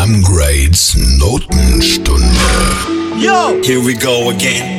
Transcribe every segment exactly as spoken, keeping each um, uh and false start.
Amgrades Notenstunde. Yo, here we go again.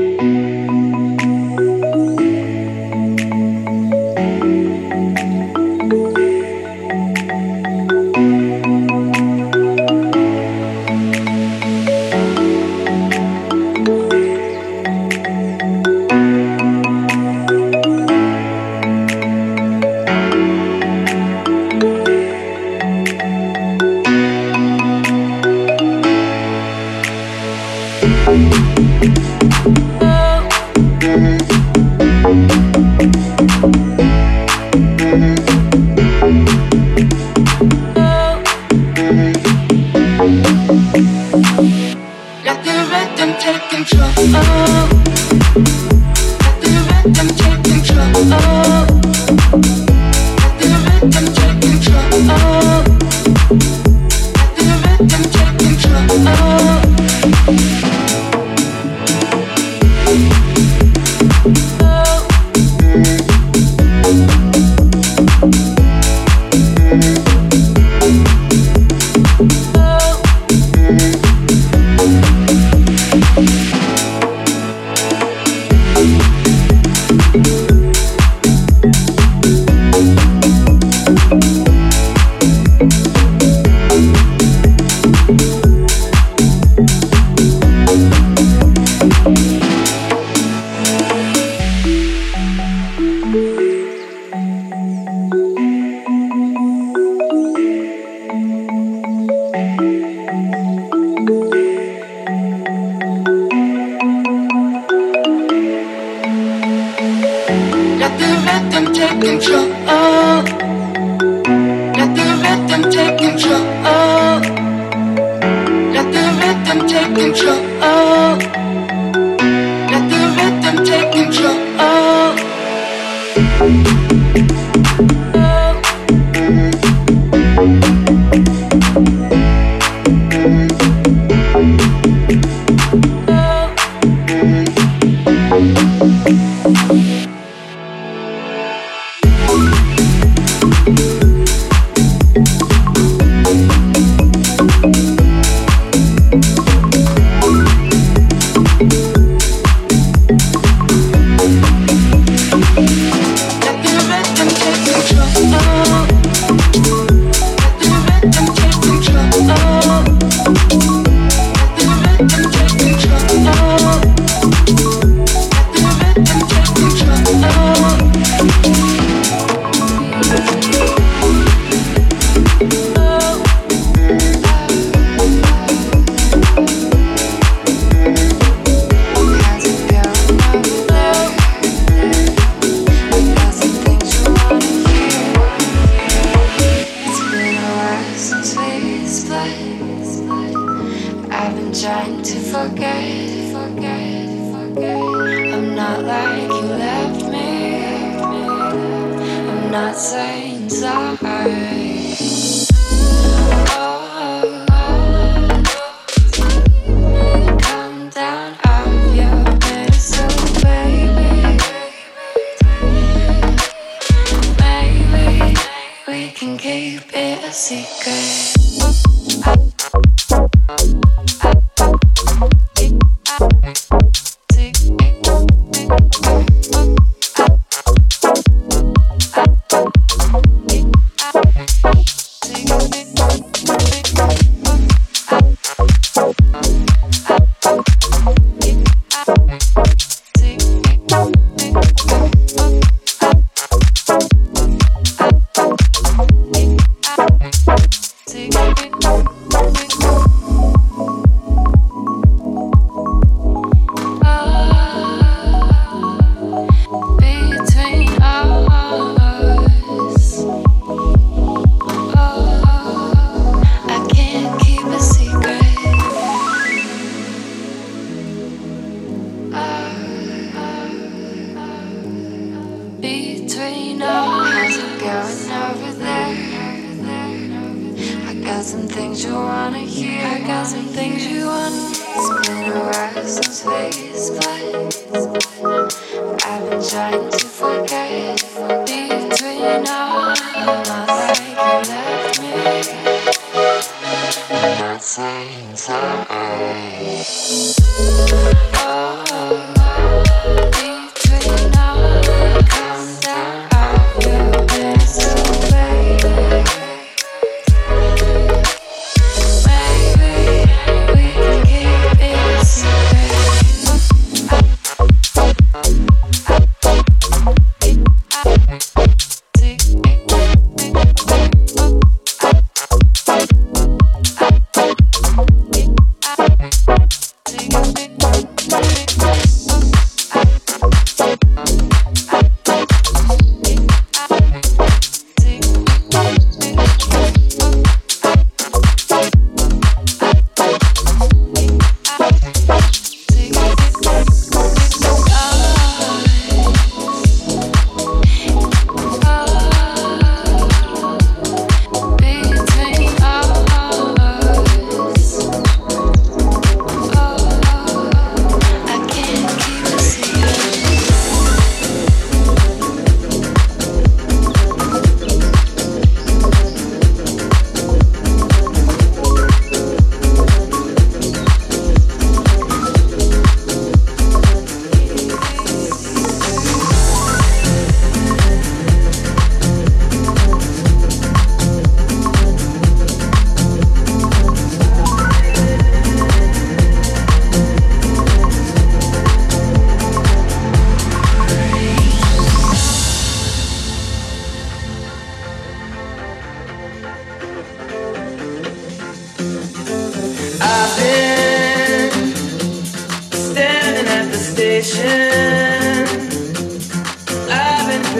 Trying to forget between us, not like you left me.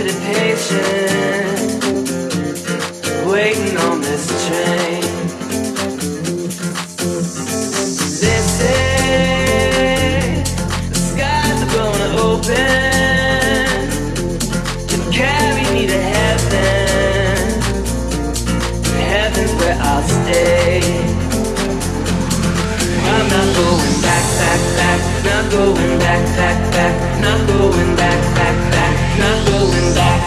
sitting patient, waiting on this train. They say the skies are gonna open to carry me to heaven. Heaven's where I'll stay. I'm not going back, back, back. Not going back, back, back. Not going back, back, back. Not going back.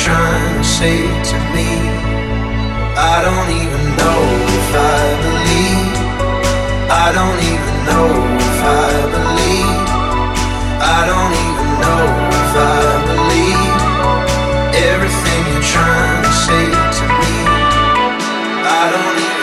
trying to say to me? I don't even know if I believe. I don't even know if I believe. I don't even know if I believe everything you're trying to say to me. I don't even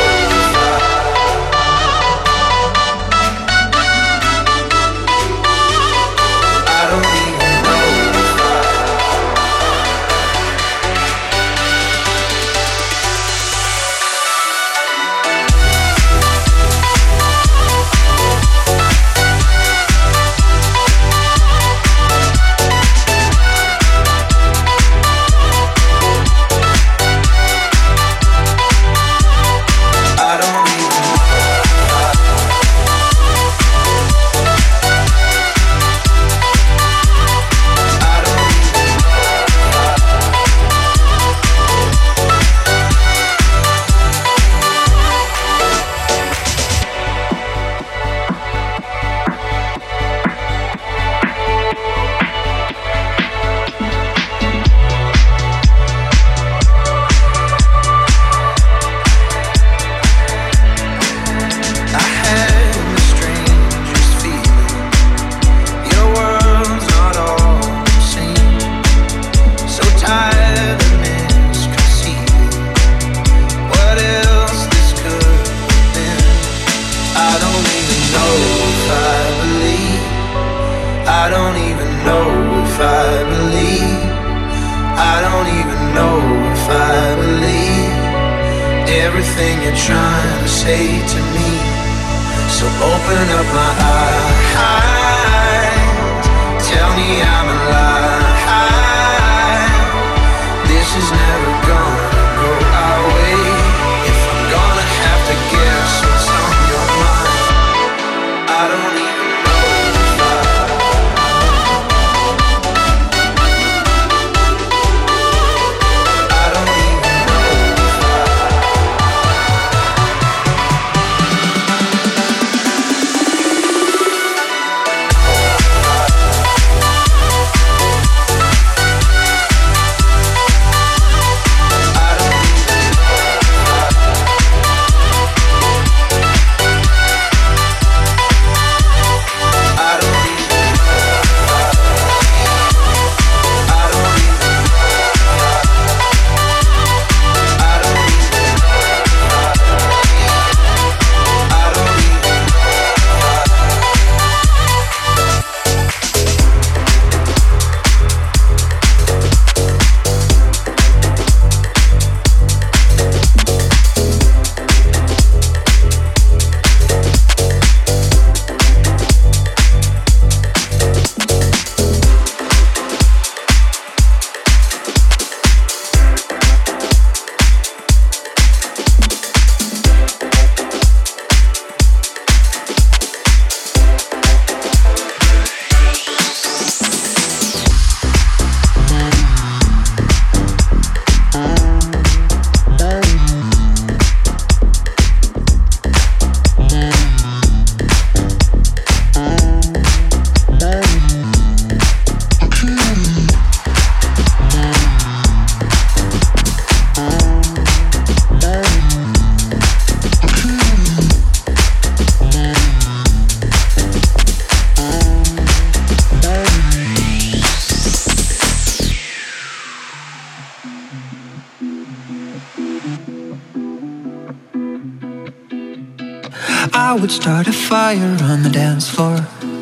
I would start a fire on the dance floor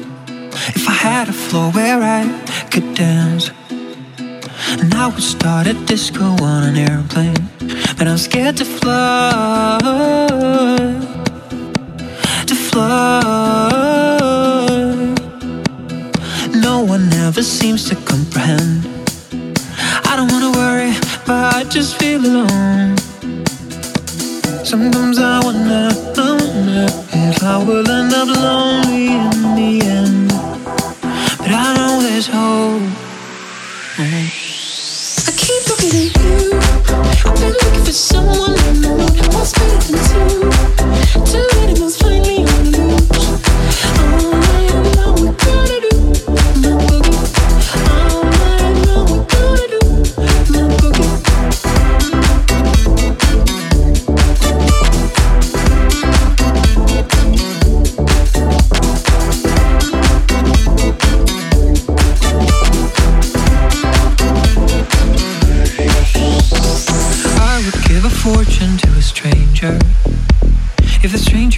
if I had a floor where I could dance. And I would start a disco on an airplane, but I'm scared to fly, to fly. No one ever seems to comprehend. I don't wanna worry, but I just feel alone. Sometimes I wonder, I wonder if I will end up lonely in the end. But I know there's hope. I keep looking at you. I've been looking for someone I know what's better than two. Two animals finally on the loose. All night long we gotta do my boogie. All night long we gotta do my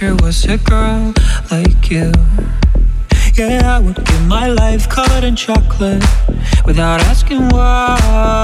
picture was a girl like you. Yeah, I would give my life covered in chocolate without asking why.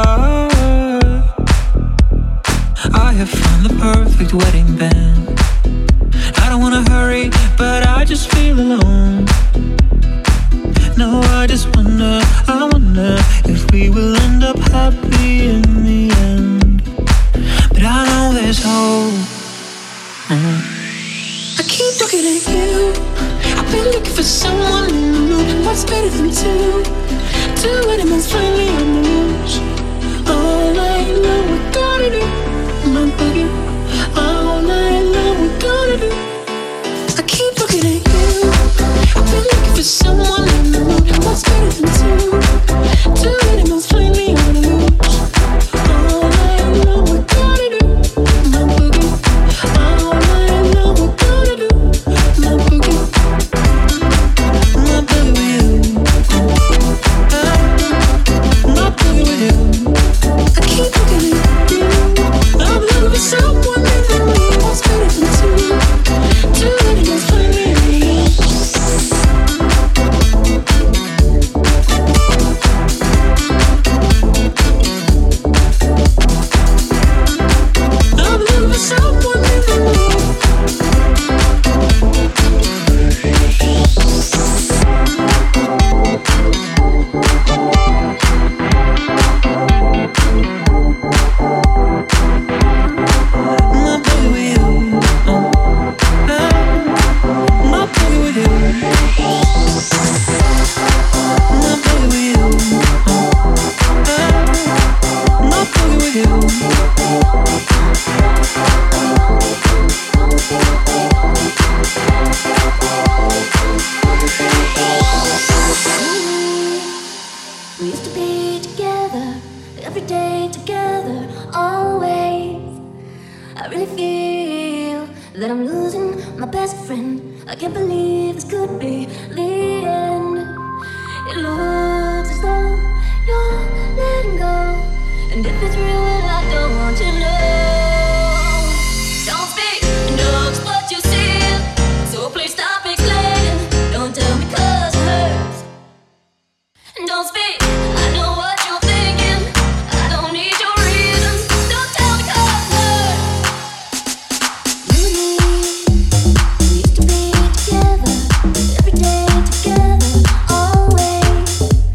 I have found the perfect wedding band. I don't wanna hurry, but I just feel alone. No, I just wonder, I wonder if we will end up happy in the end. But I know there's hope. Mm. I keep looking at you. I've been looking for someone in the mood. What's better than two? Two animals finally on the loose. All night long we're gonna do my boogie. All night long we're gonna do. I keep looking at you. I've been looking for someone in the mood. What's better than two? Two animals finally on the loose. All night long we're gonna do my boogie. All night long we're gonna do my boogie. My boogie with you. My boogie with you. I keep looking at you. I'm looking for someone in the mood. What's better than two? Two animals finally on the loose. I'm looking for someone in the mood. My boogie with you. My boogie with you. My boogie with you. My boogie with you. We used to be together, every day together, always. I really feel that I'm losing my best friend. I can't believe this could be the end. It looks as though you're letting go, and if it's real, well, I don't want to know. Don't speak, know what you see, so please stop explaining. Don't tell me 'cause it hurts. Don't speak, I know what you're thinking. I don't need your reasons. Don't tell me 'cause it hurts. You and me, we used to be together, every day together, always.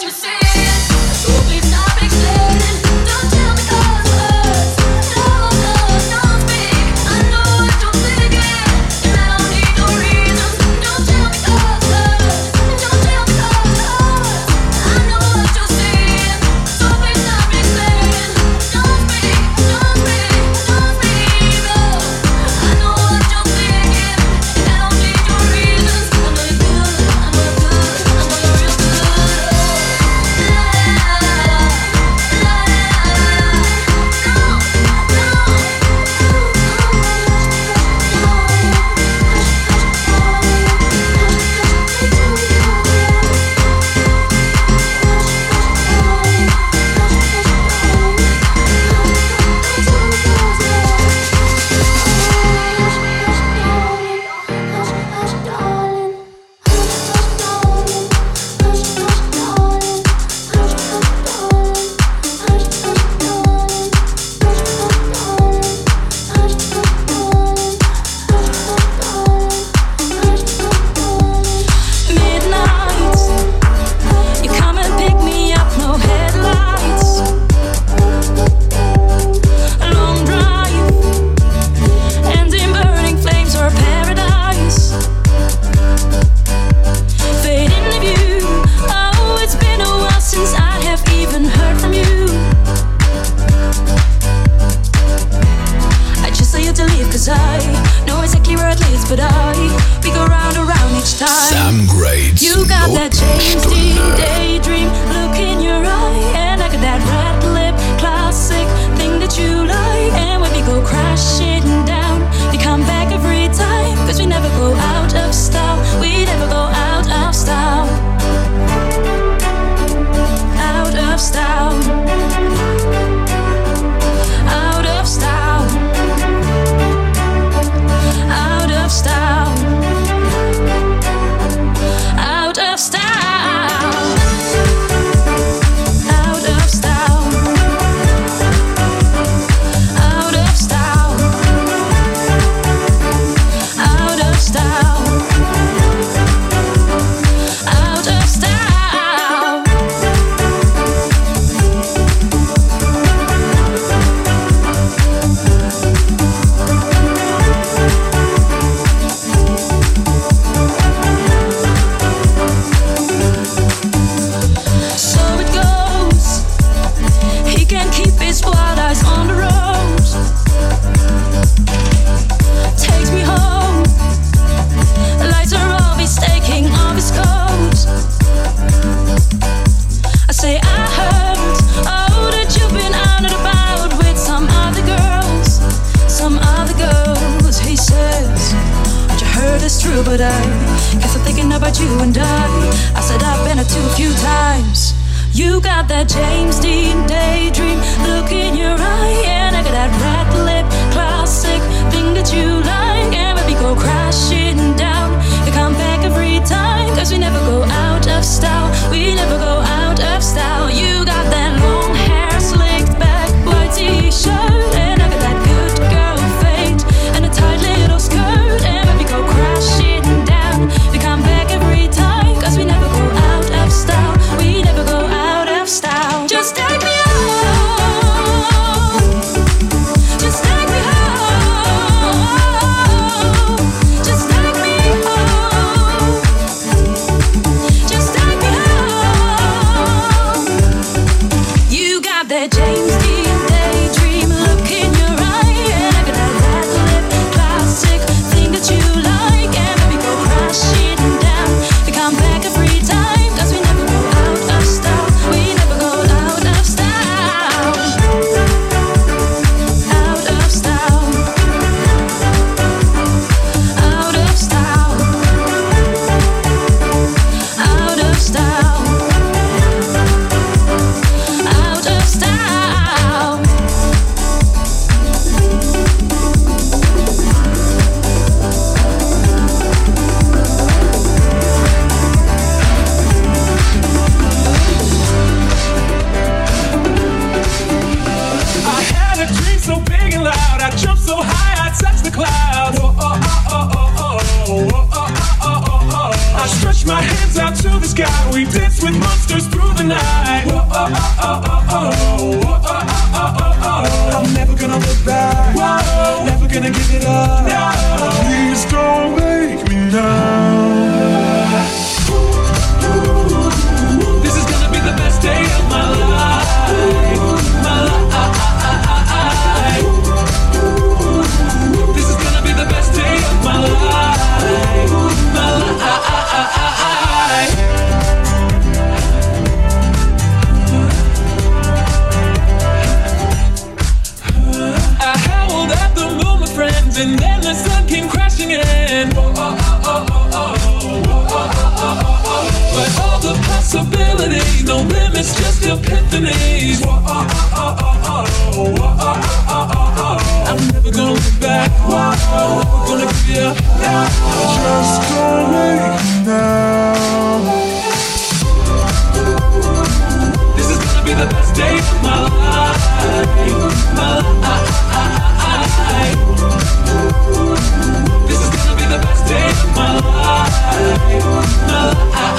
but I guess I'm thinking about you and I. I said I've been a too few times. You got that James Dean daydream look in your eye, and I got that red lip classic thing that you like, and when we go crashing down, you come back every time, cause we never go out of style, we never go out of style. You got that long hair slicked back, white t-shirt, and I got that good girl fade, and a tight little skirt, and when we go crashing down, we come back every time, cause we never go out of style, we never go out of style. Just take me home, just take me home, just take me home, just take me home. You got that James Dean daydream look in your eye, and I got that red lip classic thing that you like, and when we go crashing down, we come back every time, cause we never go out of style, we never go out of style, out of style, out of style, out of style, out of style. I had a dream so big and loud, I jumped so high, I touched the clouds. Oh, oh, oh, oh, oh, oh, oh, oh, oh, oh, oh. I stretched my hands out to the sky, we danced with monsters through the the night. Whoa, oh, oh, oh, oh, oh. Whoa, oh, oh, oh, oh, oh. I'm never gonna look back. Whoa, never gonna give it up. No, please don't make me now. This is gonna be the best day of my life. My life. This is gonna be the best day of my life. My life. I howled at the moon, my friends, and then the sun came crashing in. Oh, oh, oh, oh, oh, oh. Oh, oh, oh, oh, oh. But all the possibilities, no limits, just epiphanies. Oh, oh, oh, oh, oh, oh. Oh, oh, oh, oh, oh. I'm never gonna look back. Oh, I'm never gonna give up. Just don't make me now. This is gonna be the best day of my life. My life. This is gonna be the best day of my life. My life.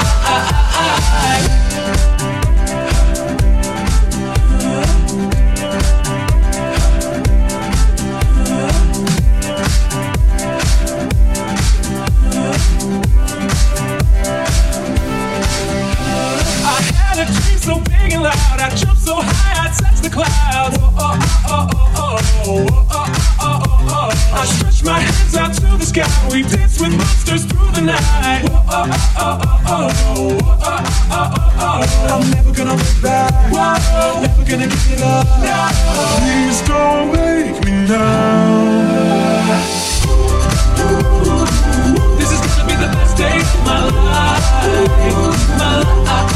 I had a dream so big and loud, I jumped so high, I touched the clouds. Oh, oh, oh, oh, oh, oh, oh, oh, oh, oh. I stretched my hands out to the sky, we danced with monsters through the night. Oh, oh, oh, oh, oh, oh, oh, oh, oh. I'm never gonna look back. Whoa, never gonna give it up. No, please don't make me now. This is gonna be the best day of my life. My life.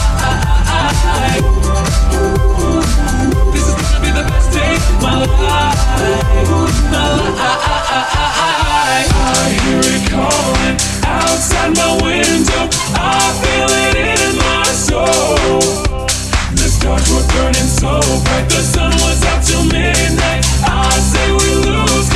This is gonna be the best day of my life. My life. I hear it calling outside my window. I feel it in my soul. The stars were burning so bright. The sun was out till midnight. I say we lose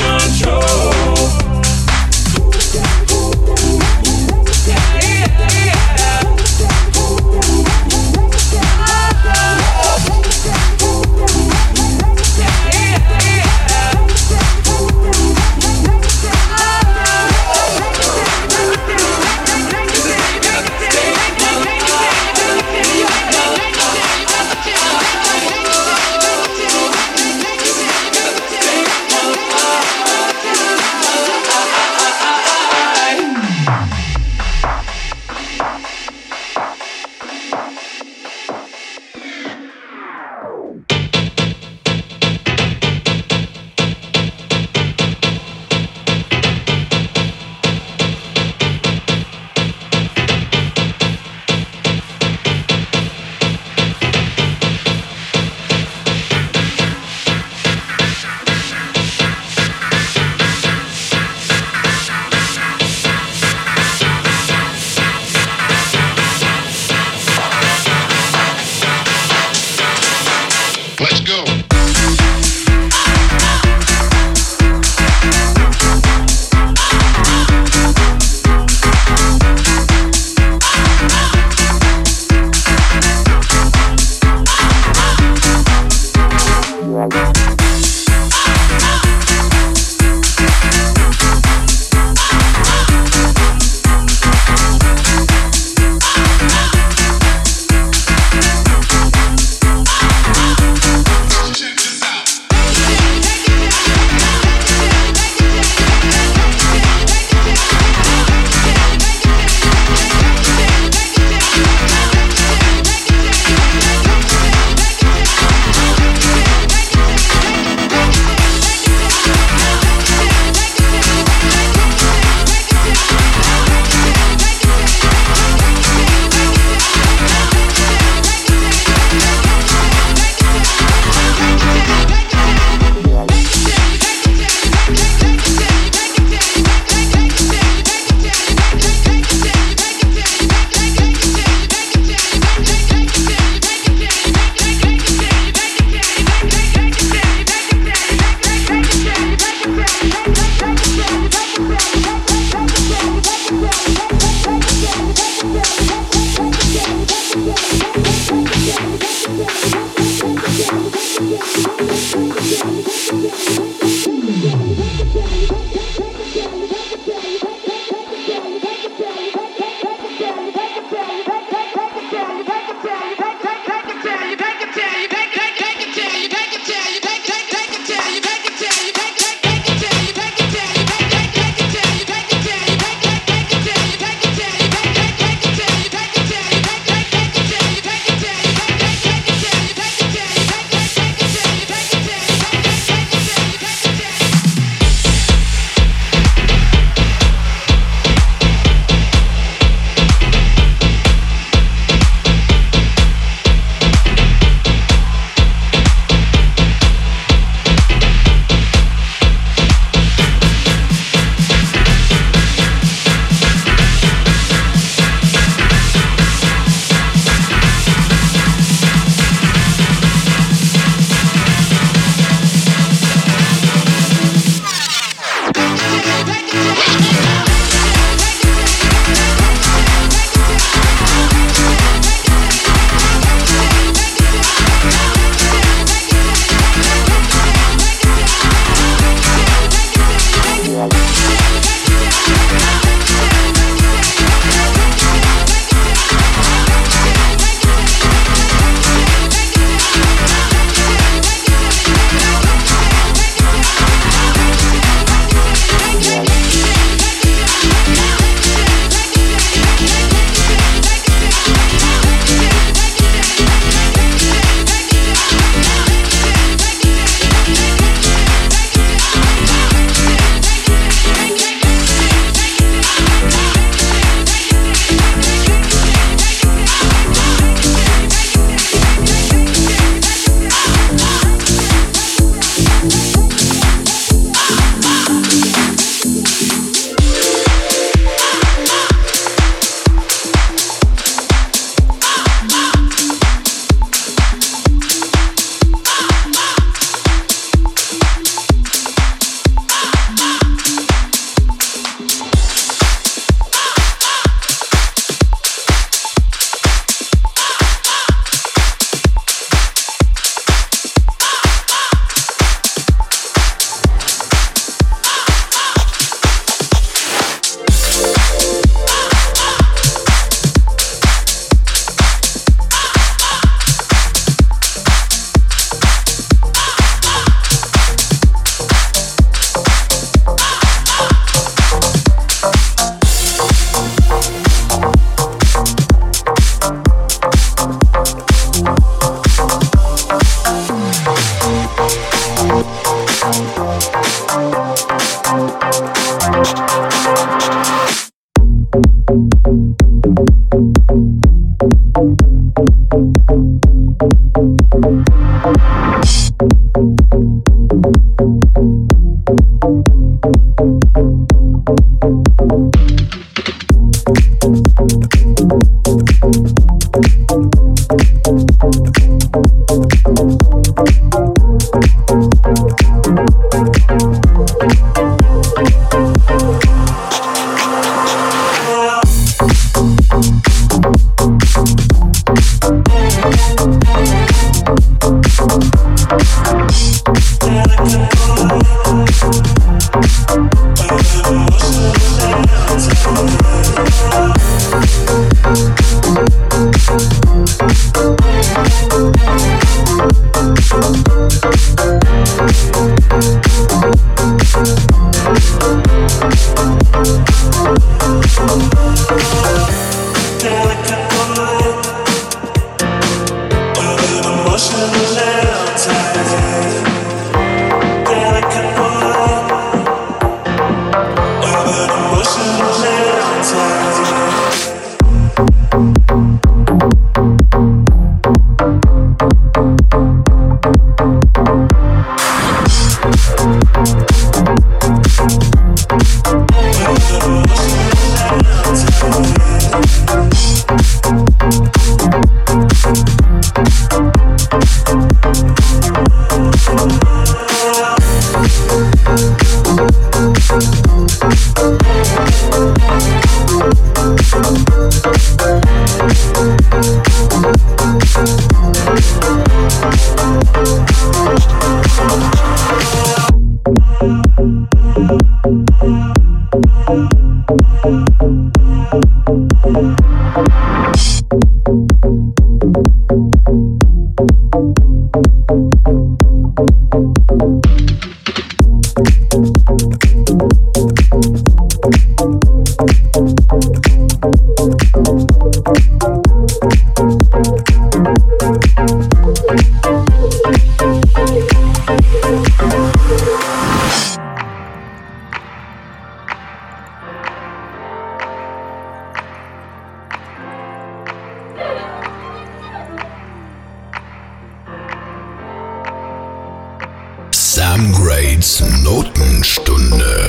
Sam Grades Notenstunde.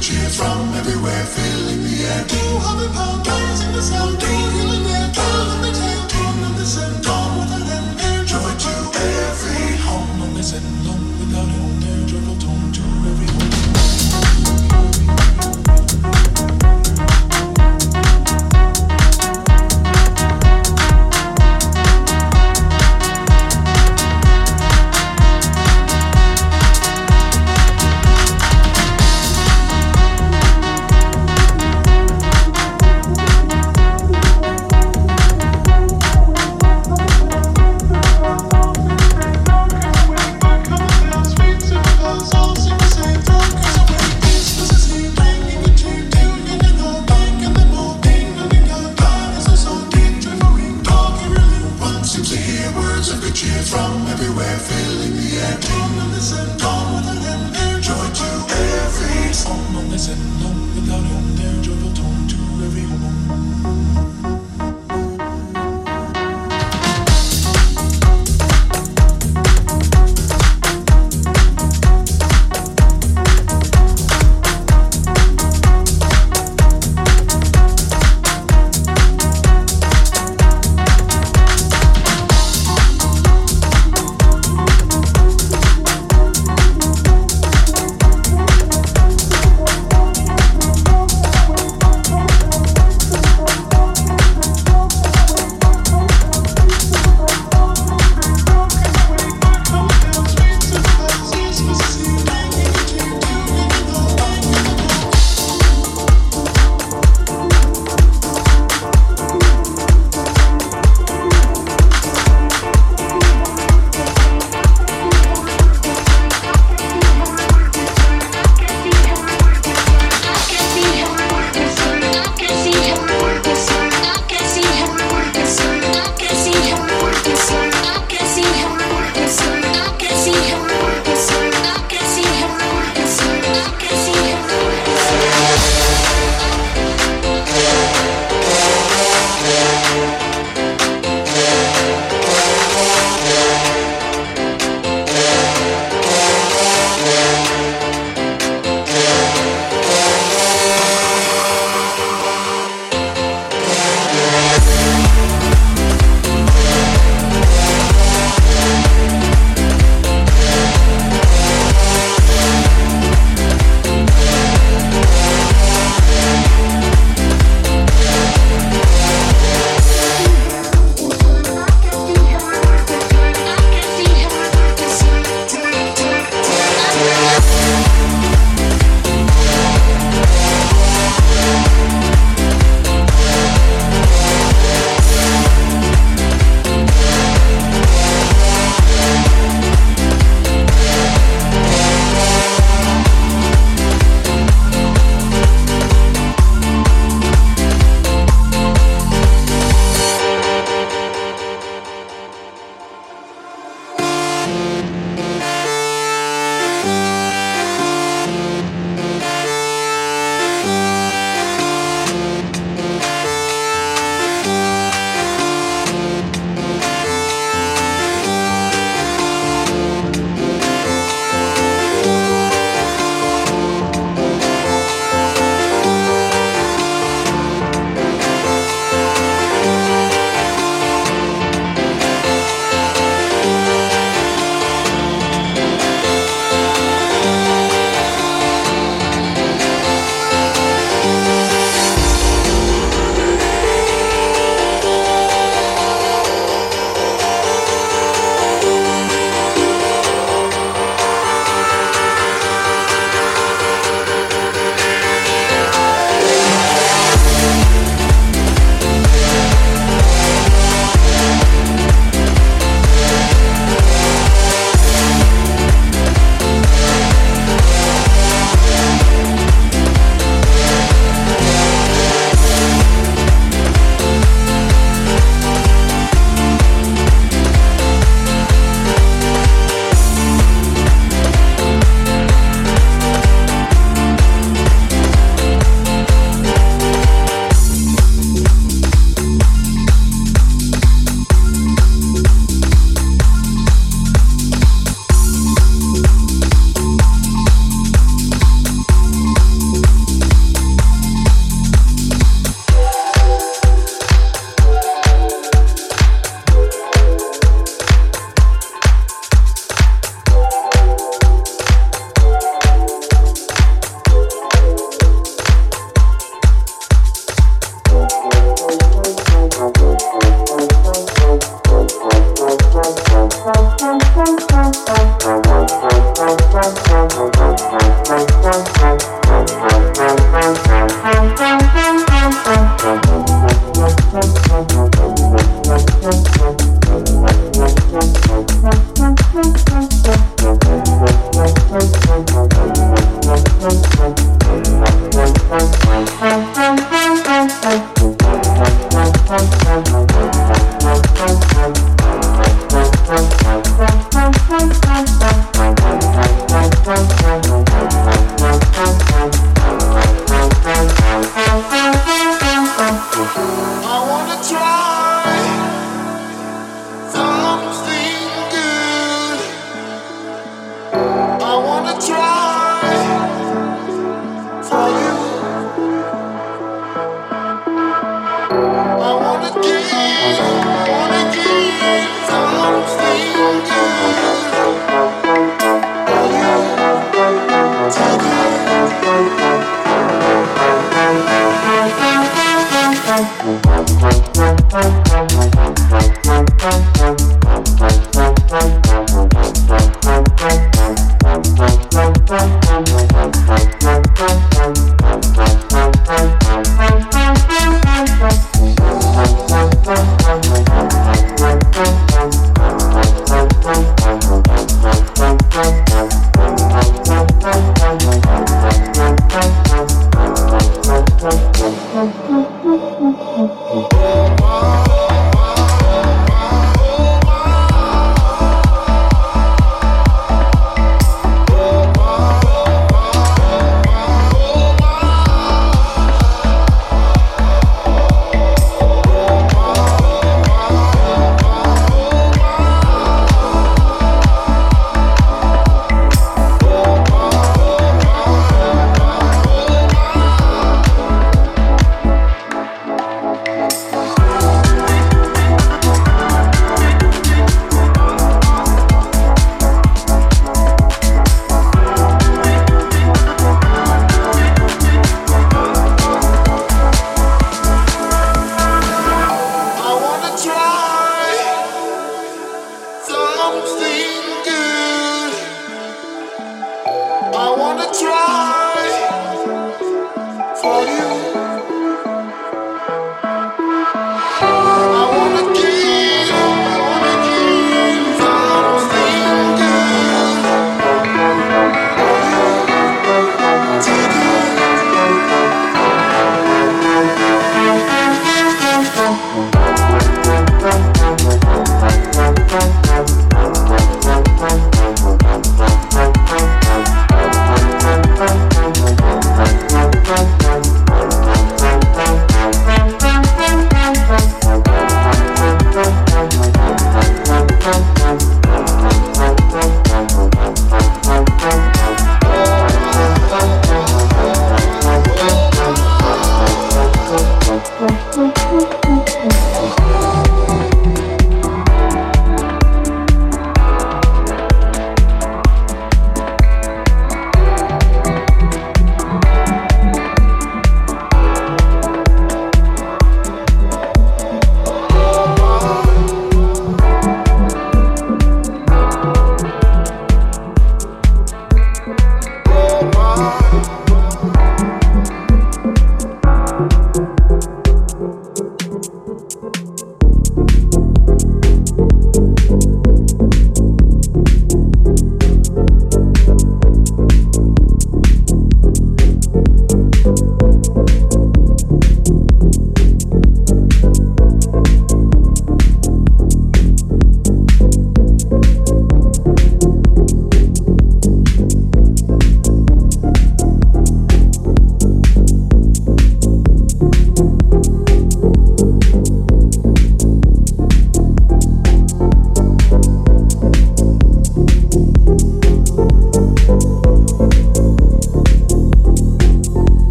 cheers from everywhere, filling the air. Two hundred pound dollars in the sound, two healing there, twelve in the tail, tune of the sun, gone with an end, air joy to every home. Long as and long without an air, joyful tone to every home.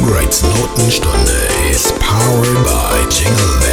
Sam Greats Notenstunde is powered by Jingle Bell.